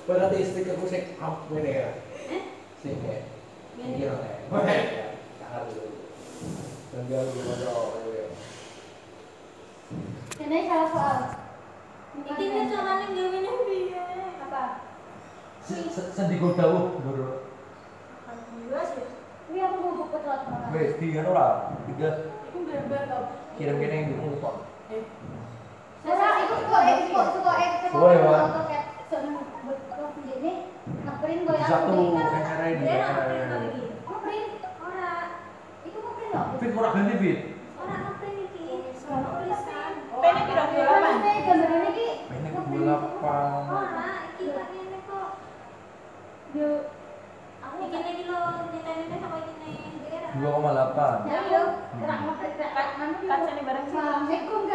Berarti istri aku sik ngene ya. Sik ya. Iki ora ya. Sangat dulu. Tanggal gimana ya. Ini salah soal. Iki nek carane gawene piye? Apa? Sendi dawuh lho. Alhamdulillah sih. Ini aku mau buka telat banget. Wes tiga ora. Tiga Iku gambar to. kirim kene yang dimu kok. Ora itu kok Suwe, Pak. Ini ngeprint gue yang Satu ini kan. kamera ini. Dia ora print lagi. Ngeprint. Ora. Itu ngeprint loh. Fit ora ganti fit. Ora ngeprint iki. Tulisan. Pene piro Gambar ini ki. Ini 28. Ora, iki tak ngene kok. Yo. Aku iki lagi lo nyetelin sama ini. 2,8. Ya yo. Gerak ngeprint gerak anu. Kacane bareng sih. Assalamualaikum